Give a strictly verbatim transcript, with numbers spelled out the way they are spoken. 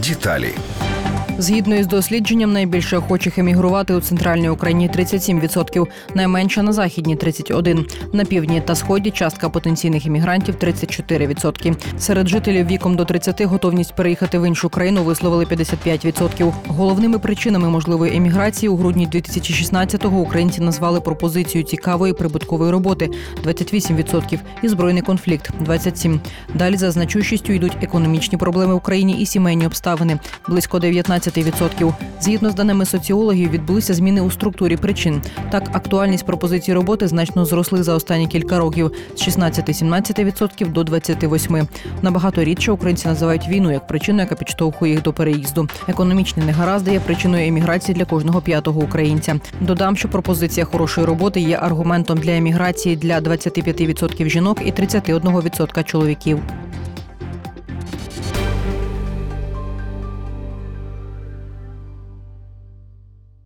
Деталі. Згідно із дослідженням, найбільше охочих емігрувати у центральній Україні – тридцять сім відсотків, найменше на західній – тридцять один відсоток. На півдні та сході частка потенційних емігрантів – тридцять чотири відсотки. Серед жителів віком до тридцяти готовність переїхати в іншу країну висловили п'ятдесят п'ять відсотків. Головними причинами можливої еміграції у грудні дві тисячі шістнадцятого українці назвали пропозицію цікавої прибуткової роботи – двадцять вісім відсотків і збройний конфлікт – двадцять сім відсотків. Далі за значущістю йдуть економічні проблеми в Україні і сімейні обставини – близько дев'ятнадцять відсотків. Згідно з даними соціологів, відбулися зміни у структурі причин. Так, актуальність пропозицій роботи значно зросли за останні кілька років – з шістнадцять-сімнадцять відсотків до двадцять вісім відсотків. Набагато рідше українці називають війну як причину, яка підштовхує їх до переїзду. Економічні негаразди є причиною еміграції для кожного п'ятого українця. Додам, що пропозиція хорошої роботи є аргументом для еміграції для двадцять п'ять відсотків жінок і тридцять один відсоток чоловіків.